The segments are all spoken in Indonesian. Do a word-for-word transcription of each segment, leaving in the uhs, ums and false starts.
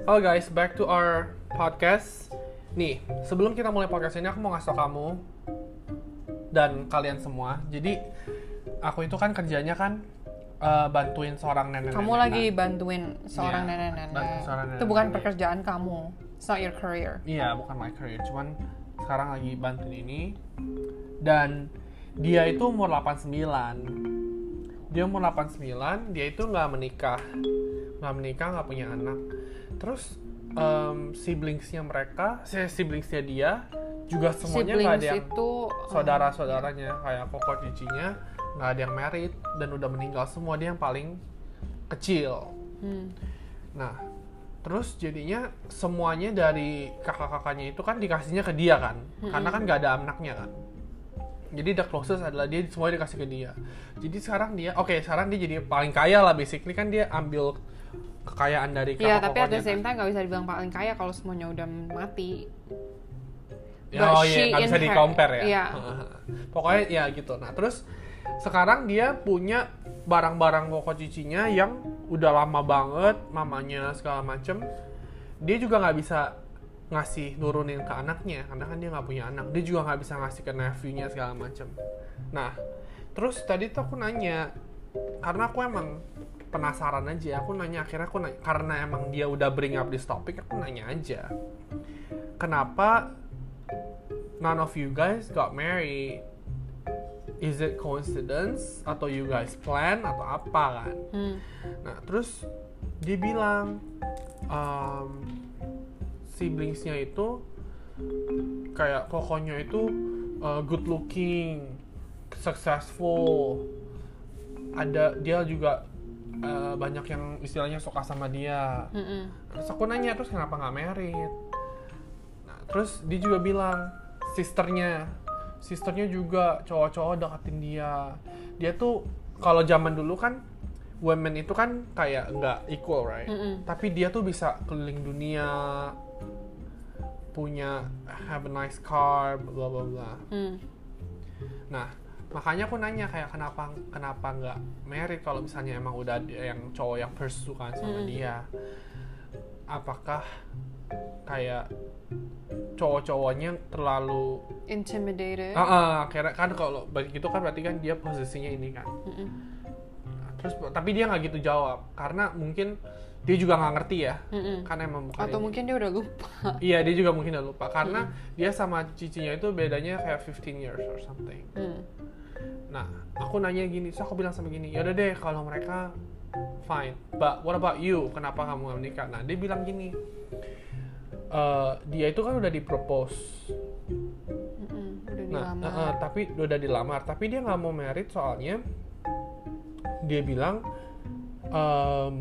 Halo guys, back to our podcast. Nih, sebelum kita mulai podcast ini, aku mau ngasih tau kamu dan kalian semua. Jadi, aku itu kan kerjanya kan uh, bantuin seorang nenek-nenek. Kamu lagi bantuin seorang yeah, nenek-nenek. bantuin seorang Itu nenek-nenek. bukan pekerjaan kamu. It's not your career. Iya, bukan my career. Cuman sekarang lagi bantuin ini. Dan dia itu umur delapan puluh sembilan. Dia umur delapan puluh sembilan, dia itu nggak menikah. Nggak menikah, nggak punya anak. Terus um, siblingsnya mereka, siblingsnya dia juga semuanya nggak ada yang itu, saudara-saudaranya kayak koko cicinya nggak ada yang married dan udah meninggal semua, dia yang paling kecil. Hmm. Nah, terus jadinya semuanya dari kakak-kakaknya itu kan dikasihnya ke dia kan, hmm. karena kan nggak ada anaknya kan. Jadi the closest adalah dia, semuanya dikasih ke dia. Jadi sekarang dia, oke okay, sekarang dia jadi paling kaya lah basically, kan dia ambil kekayaan dari kakak-kakaknya. Iya, tapi at the same time nggak bisa dibilang paling kaya kalau semuanya udah mati. Ya, oh iya, nggak bisa di-compare ya. Iya. Pokoknya ya gitu. Nah, terus sekarang dia punya barang-barang koko cicinya yang udah lama banget, mamanya segala macem. Dia juga nggak bisa ngasih nurunin ke anaknya, karena kan dia nggak punya anak. Dia juga nggak bisa ngasih ke nephew-nya segala macem. Nah, terus tadi tuh aku nanya, karena aku emang penasaran aja, aku nanya akhirnya aku nanya, karena emang dia udah bring up this topic, aku nanya aja, kenapa none of you guys got married? Is it coincidence atau you guys plan atau apa kan? Hmm. Nah terus dia bilang um, siblingsnya itu kayak kokonya itu uh, good looking, successful, ada dia juga Uh, banyak yang istilahnya suka sama dia. Mm-mm. Terus aku nanya, terus kenapa nggak married? Nah, terus dia juga bilang sisternya, sisternya juga cowok-cowok deketin dia. Dia tuh kalau zaman dulu kan women itu kan kayak nggak equal, right? Mm-mm. Tapi dia tuh bisa keliling dunia, punya have a nice car, bla bla bla. Mm. Nah, makanya aku nanya kayak kenapa kenapa nggak married kalau misalnya emang udah ada yang cowok yang pursue kan sama hmm. dia. Apakah kayak cowok-cowoknya terlalu intimidated? Ah, uh, uh, kan kalau begitu kan berarti kan dia posisinya ini kan. Mm-mm. Terus tapi dia nggak gitu jawab karena mungkin dia juga nggak ngerti ya. Mm-mm. Kan emang bukan atau ini. Mungkin dia udah lupa. Iya, dia juga mungkin udah lupa karena mm. dia sama cicinya itu bedanya kayak fifteen years or something. Mm. Nah, aku nanya gini, so aku bilang sama gini, yaudah deh kalau mereka fine, but what about you? Kenapa kamu gak menikah? Nah, dia bilang gini, uh, dia itu kan udah dipropose, udah nah, dilamar. Uh, tapi udah dilamar, tapi dia nggak mau married soalnya dia bilang, um,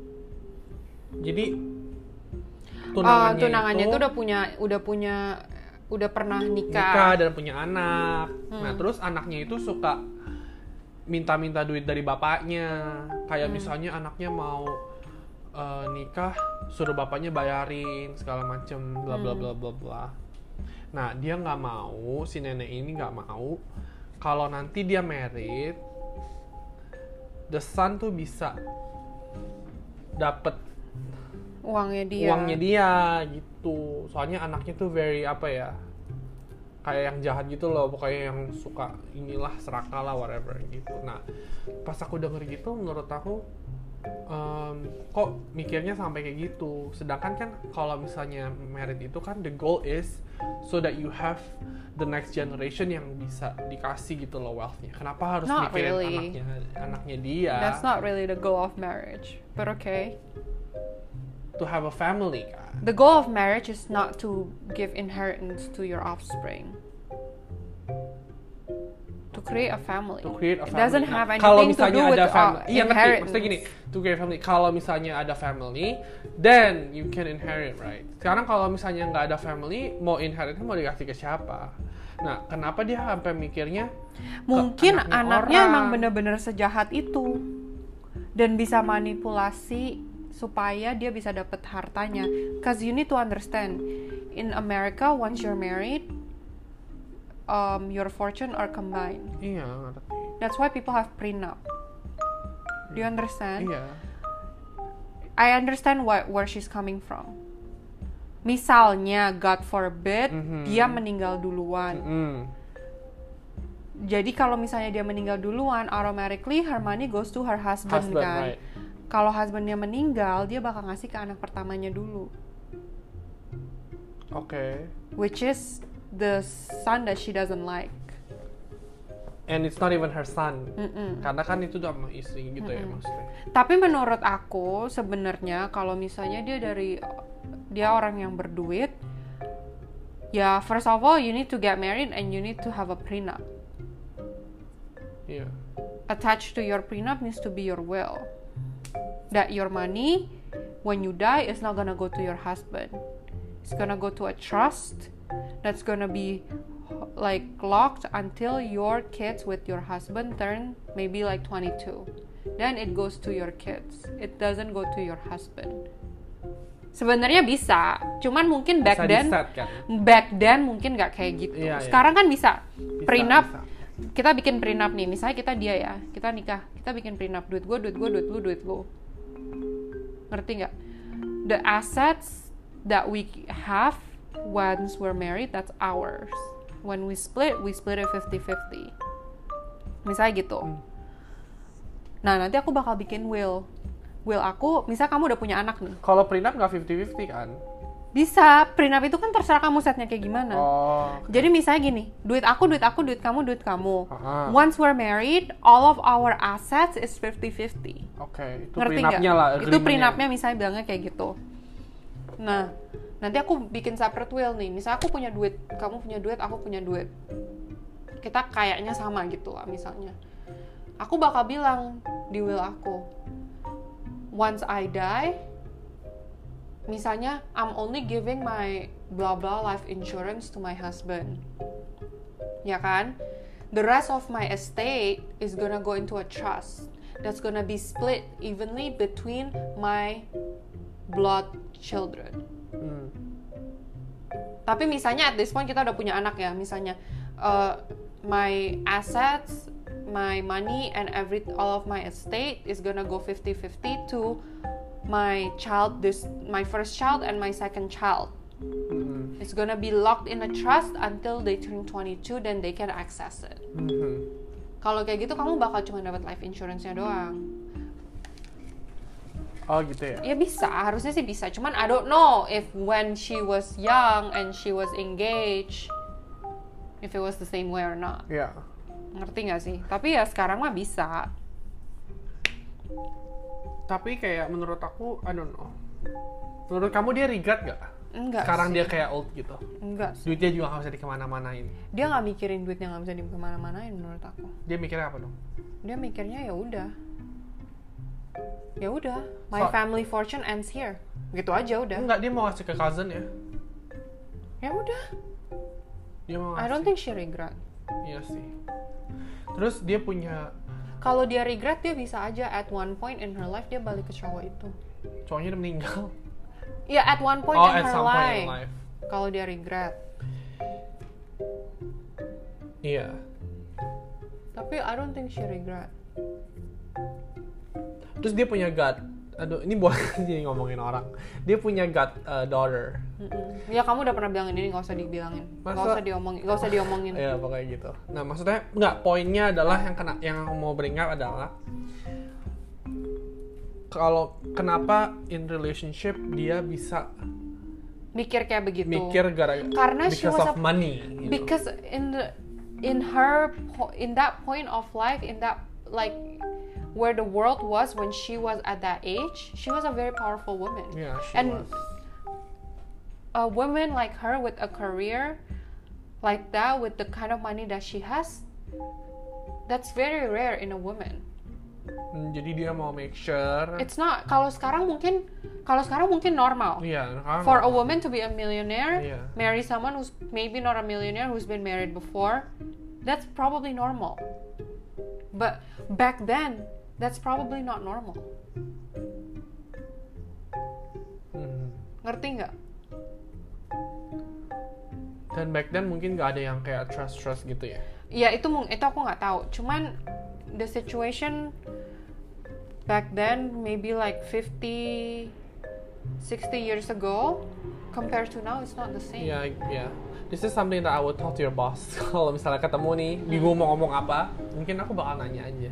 jadi tunangannya, uh, tunangannya itu, itu udah punya, udah punya udah pernah nikah. nikah dan punya anak. Hmm. Nah, terus anaknya itu suka minta-minta duit dari bapaknya. Kayak hmm. misalnya anaknya mau uh, nikah, suruh bapaknya bayarin segala macem, bla bla bla bla bla. Nah, dia nggak mau, si nenek ini nggak mau kalau nanti dia married, the son tuh bisa dapet uangnya dia. Uangnya dia gitu. Soalnya anaknya tuh very apa ya? Kayak yang jahat gitu loh, pokoknya yang suka inilah serakah lah whatever gitu. Nah, pas aku denger gitu menurut aku um, kok mikirnya sampai kayak gitu. Sedangkan kan kalau misalnya married itu kan the goal is so that you have the next generation yang bisa dikasih gitu loh wealth-nya. Kenapa harus not mikirin really. anaknya anaknya dia? That's not really the goal of marriage. But okay. To have a family kan. The goal of marriage is not to give inheritance to your offspring. To create a family. To create a family. It doesn't nah, have anything to do with uh, iya, ngerti. Maksudnya gini, to create a family. Kalau misalnya ada family, then you can inherit, right? Sekarang kalau misalnya nggak ada family, mau inherit mau dikasih ke siapa? Nah, kenapa dia sampai mikirnya? Mungkin anaknya, anaknya emang bener-bener sejahat itu dan bisa manipulasi supaya dia bisa dapat hartanya. Cause you need to understand, in America once you're married, um, your fortune are combined. Iya, ngerti. That's why people have prenup. Do you understand? Iya. I understand what where she's coming from. Misalnya, God forbid, mm-hmm. dia meninggal duluan. Mm-hmm. Jadi kalau misalnya dia meninggal duluan, automatically her money goes to her husband, husband kan. Right. Kalau husbandnya meninggal, dia bakal ngasih ke anak pertamanya dulu. Oke. Okay. Which is the son that she doesn't like. And it's not even her son. Mm-mm. Karena kan itu udah sama istri gitu. Mm-mm. Ya maksudnya. Tapi menurut aku sebenarnya kalau misalnya dia dari dia orang yang berduit, ya first of all you need to get married and you need to have a prenup. Yeah. Attached to your prenup needs to be your will. That your money when you die is not gonna go to your husband. It's gonna go to a trust that's gonna be like locked until your kids with your husband turn maybe like twenty-two. Then it goes to your kids. It doesn't go to your husband. Sebenarnya bisa, cuman mungkin back bisa then set, kan? Back then mungkin nggak kayak gitu. Iya, sekarang iya. Kan bisa, bisa prenup. Bisa. Kita bikin prenup nih, misalnya kita dia ya, kita nikah, kita bikin prenup, duit gue, duit gue, duit lu, duit lu. Ngerti nggak? The assets that we have once we're married, that's ours. When we split, we split it fifty-fifty. Misalnya gitu. Hmm. Nah, nanti aku bakal bikin will. Will aku, misalnya kamu udah punya anak nih. Kalau prenup nggak fifty-fifty kan? Bisa. Prenup itu kan terserah kamu setnya kayak gimana. Oh, okay. Jadi misalnya gini, duit aku, duit aku, duit kamu, duit kamu. Uh-huh. Once we're married, all of our assets is fifty-fifty. Oke, okay. Itu ngerti prenupnya lah. Itu prenupnya misalnya bilangnya kayak gitu. Nah, nanti aku bikin separate will nih. Misalnya aku punya duit, kamu punya duit, aku punya duit. Kita kayaknya sama gitu lah misalnya. Aku bakal bilang di will aku, once I die, misalnya I'm only giving my blah blah life insurance to my husband. Ya kan? The rest of my estate is gonna go into a trust. That's gonna be split evenly between my blood children. Hmm. Tapi misalnya at this point kita udah punya anak ya, misalnya uh, my assets, my money and every all of my estate is gonna go fifty-fifty to my child, this my first child and my second child. Mm-hmm. It's gonna be locked in a trust until they turn twenty-two, then they can access it. Mm-hmm. Kalau kayak gitu kamu bakal cuma dapat life insurance-nya doang. Oh gitu ya? Ya bisa, harusnya sih bisa. Cuman I don't know if when she was young and she was engaged, if it was the same way or not. Iya. Yeah. Ngerti nggak sih? Tapi ya sekarang mah bisa. Tapi kayak menurut aku, I don't know. Menurut kamu dia regret gak? Enggak sekarang sih. Dia kayak old gitu? Enggak sih. Duitnya juga gak bisa dikemana-manain? Dia gak mikirin duitnya gak bisa dikemana-manain menurut aku. Dia mikirnya apa dong? Dia mikirnya ya udah. Ya udah, my so, family fortune ends here. Gitu aja udah. Enggak, dia mau ngasih ke cousin ya? Ya udah. Dia mau ngasih. I don't think she regret. Iya sih. Terus dia punya, kalau dia regret, dia bisa aja at one point in her life dia balik ke cowok itu. Cowoknya udah meninggal. Ya, at one point oh, in at her some life. Point in life. Kalau dia regret. Iya. Tapi I don't think she regret. Terus dia punya god. Aduh, ini boleh sih ngomongin orang. Dia punya god uh, daughter. Mm-mm. Ya kamu udah pernah bilangin ini, nggak usah dibilangin, nggak usah diomongin, nggak usah diomongin. Iya pokoknya gitu. Nah maksudnya nggak, poinnya adalah yang kena, yang mau bring up adalah kalau kenapa in relationship dia bisa mikir kayak begitu. Mikir gara karena because of a, money. You because know? in the in her in that point of life, in that like where the world was when she was at that age, she was a very powerful woman. Yeah, she and was. A woman like her with a career like that, with the kind of money that she has, that's very rare in a woman. Jadi dia mau make sure. It's not. Kalau sekarang mungkin, kalau sekarang mungkin normal. Yeah, for normal. a woman to be a millionaire, yeah. marry someone who's maybe not a millionaire, who's been married before, that's probably normal. But back then, that's probably not normal. Hmm. Ngerti nggak? Dan back then mungkin nggak ada yang kayak trust trust gitu ya? Ya itu itu aku nggak tahu. Cuman the situation back then maybe like fifty, sixty years ago compared to now, it's not the same. Yeah, yeah. This is something that I would talk to your boss. Kalau misalnya ketemu nih, bingung mau ngomong apa, mungkin aku bakal nanya aja.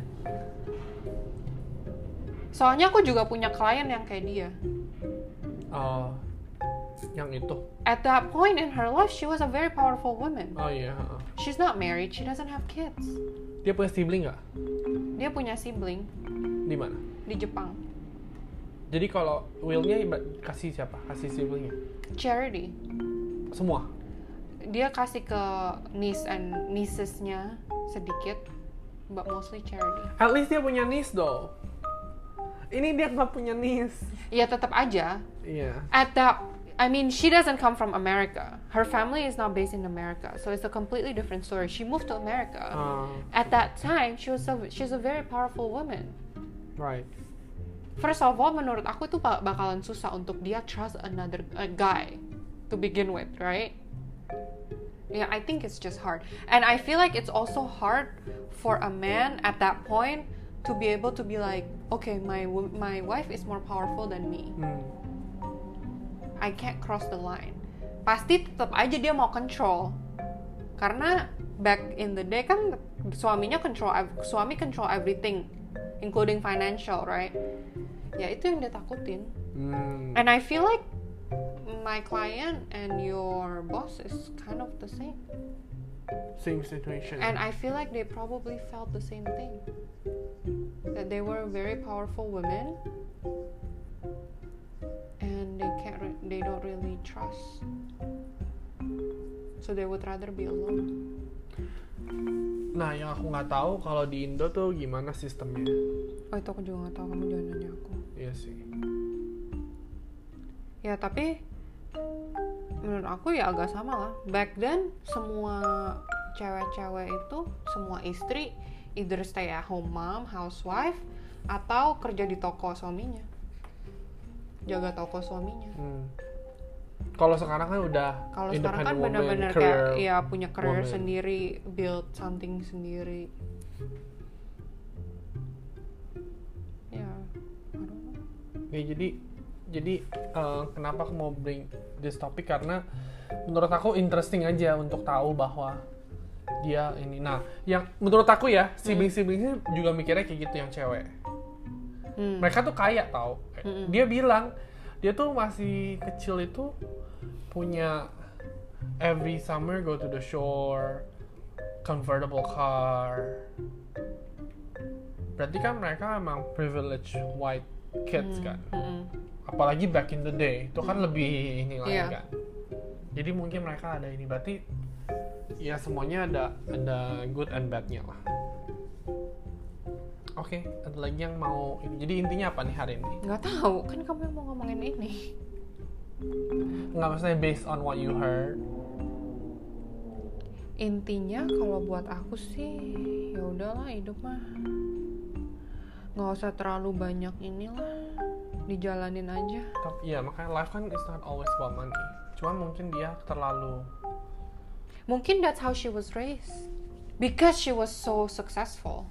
Soalnya aku juga punya klien yang kayak dia. Uh, yang itu. At that point in her life, she was a very powerful woman. Oh iya. Yeah. She's not married, she doesn't have kids. Dia punya sibling nggak? Dia punya sibling. Di mana? Di Jepang. Jadi kalau will-nya kasih siapa? Kasih siblingnya? Charity. Semua? Dia kasih ke niece and niecesnya sedikit, but mostly charity. At least dia punya niece though. Ini dia nggak punya niece. Ya tetap aja. Iya. Yeah. At that, I mean, she doesn't come from America. Her family is not based in America, so it's a completely different story. She moved to America. Uh, At that time, she was a, she's a very powerful woman. Right. First of all, menurut aku itu bakalan susah untuk dia trust another a guy to begin with, right? Yeah, I think it's just hard. And I feel like it's also hard for a man at that point to be able to be like, okay, my my wife is more powerful than me. Hmm. I can't cross the line. Pasti tetap aja dia mau control. Karena back in the day kan suaminya control, suami control everything, including financial, right? Ya itu yang dia takutin. Hmm. And I feel like my client and your boss is kind of the same. Same situation. And I feel like they probably felt the same thing. That they were very powerful women, and they can't, re- they don't really trust. So they would rather be alone. Nah, yang aku nggak tahu kalau di Indo tuh gimana sistemnya. Oh itu aku juga nggak tahu, kamu jangan nanya aku. Iya sih. Ya tapi menurut aku ya agak sama lah. Back then semua cewek-cewek itu, semua istri either stay at home mom, housewife, atau kerja di toko suaminya, jaga toko suaminya. Hmm. Kalau sekarang kan udah Kalau sekarang independent kan woman, benar-benar career kayak ya punya career woman. sendiri, build something sendiri. Ya, I don't know. Ya, jadi jadi uh, kenapa aku mau bring this topic karena menurut aku interesting aja untuk tahu bahwa dia ini. Nah, yang menurut aku ya sibling-siblingnya juga mikirnya kayak gitu yang cewek. Hmm. Mereka tuh kaya tau. Hmm. Dia bilang dia tuh masih kecil itu punya every summer go to the shore, convertible car. Berarti kan mereka emang privileged white kids Hmm. kan. Hmm. Apalagi back in the day itu kan lebih ini lagi Yeah. kan. Jadi mungkin mereka ada ini, berarti ya semuanya ada ada good and badnya lah. Oke, okay, ada lagi yang mau ini. Jadi intinya apa nih hari ini? Nggak tahu, kan kamu yang mau ngomongin ini. Nggak, maksudnya based on what you heard. Intinya kalau buat aku sih ya udahlah, hidup mah nggak usah terlalu banyak inilah, dijalanin aja. Tapi ya makanya life kan is not always about money. Cuman mungkin dia terlalu. Mungkin that's how she was raised, because she was so successful.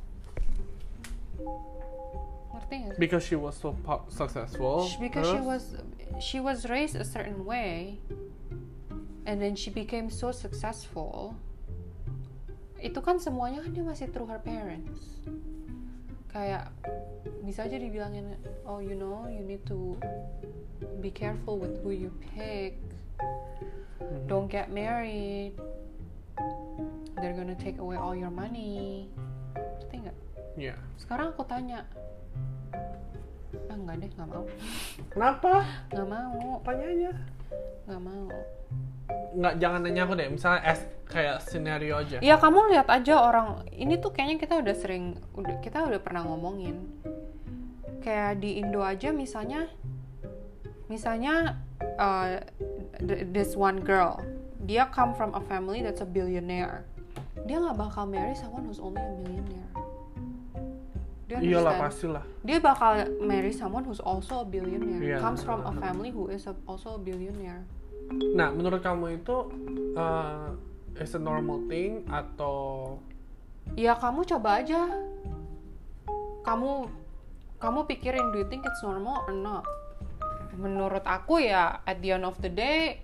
Ngerti nggak? Because she was so po- successful. Because she terus- was she was raised a certain way, and then she became so successful. Itu kan semuanya kan dia masih through her parents. Kayak bisa aja dibilangin, oh you know you need to be careful with who you pick. Mhm. Don't get married. They're gonna take away all your money. Ngerti nggak? Iya. Sekarang aku tanya, ah nggak deh, nggak mau, Kenapa? nggak mau, Tanya aja. nggak mau. Nggak, jangan nanya aku deh. Misalnya as kayak scenario aja. Ya kamu lihat aja orang ini tuh kayaknya kita udah sering, udah kita udah pernah ngomongin. Kayak di Indo aja misalnya, misalnya uh, th- this one girl, dia come from a family that's a billionaire. Dia nggak bakal marry someone who's only a millionaire. Do you Iyalah understand? pastilah. Dia bakal marry someone who's also a billionaire. Yeah. Comes from a family who is a, also a billionaire. Nah, menurut kamu itu uh, is a normal thing atau Ya kamu coba aja. Kamu kamu pikirin, do you think it's normal or not? Menurut aku ya, at the end of the day,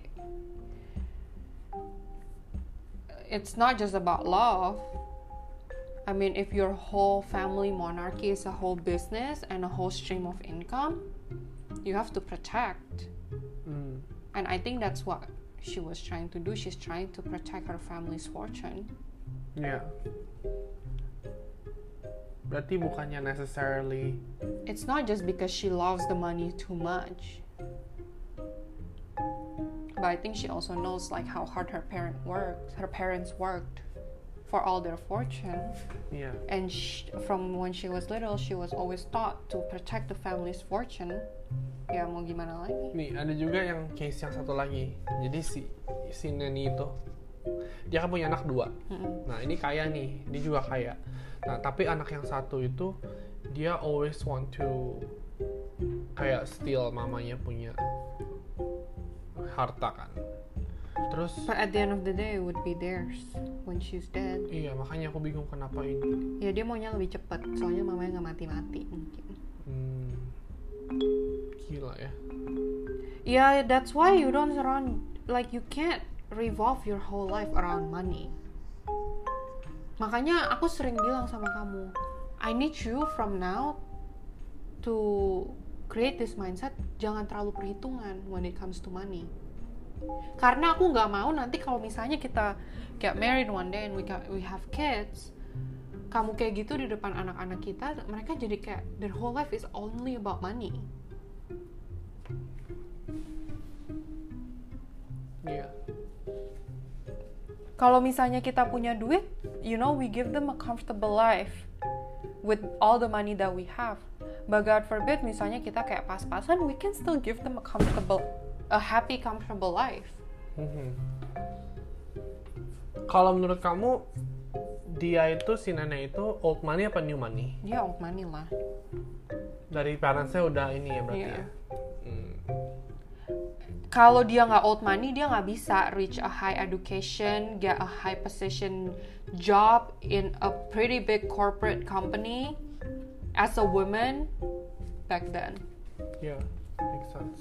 it's not just about love. I mean, if your whole family monarchy is a whole business and a whole stream of income, you have to protect. Hmm. And I think that's what she was trying to do. She's trying to protect her family's fortune. Ya. Berarti bukannya necessarily. It's not just because she loves the money too much. But I think she also knows like how hard her parent worked. Her parents worked for all their fortune. Iya. And she, from when she was little, she was always taught to protect the family's fortune. Ya mau gimana lagi? Nih ada juga yang case yang satu lagi. Jadi si si Neni itu dia kan punya anak dua. Mm-mm. Nah ini kaya nih, dia juga kaya. Nah tapi anak yang satu itu dia always want to kayak steal mamanya punya harta kan. Terus But at the end of the day, it would be theirs when she's dead. iya makanya aku bingung kenapa ini. Ya dia maunya lebih cepat, soalnya mamanya nggak mati-mati mungkin. Hmm, gila ya. Yeah, that's why you don't surround, like you can't revolve your whole life around money. Makanya aku sering bilang sama kamu, I need you from now to create this mindset, jangan terlalu perhitungan when it comes to money. Karena aku nggak mau nanti kalau misalnya kita get married one day and we got, we have kids, kamu kayak gitu di depan anak-anak kita, mereka jadi kayak their whole life is only about money. Iya. Kalau misalnya kita punya duit, you know, we give them a comfortable life with all the money that we have. But God forbid, misalnya kita kayak pas-pasan, we can still give them a comfortable, a happy, comfortable life. Mhm. Kalau menurut kamu dia itu si nenek itu old money apa new money? Dia old money lah. Dari parentsnya udah ini ya berarti Iya. ya. Hmm. Kalau dia nggak old money, dia nggak bisa reach a high education, get a high position job in a pretty big corporate company as a woman back then. Yeah, makes sense.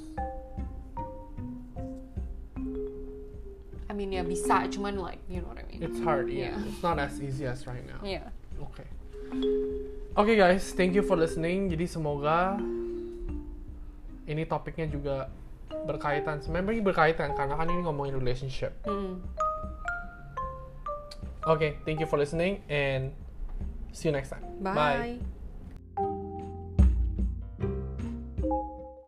I mean ya bisa, cuman like you know what I mean. It's hard, yeah. Yeah. It's not as easy as right now. Yeah. Oke. Oke guys, thank you for listening. Jadi semoga ini topiknya juga berkaitan, sebenarnya berkaitan karena kan ini ngomongin relationship. Hmm. Oke, okay, thank you for listening and see you next time. Bye. Bye.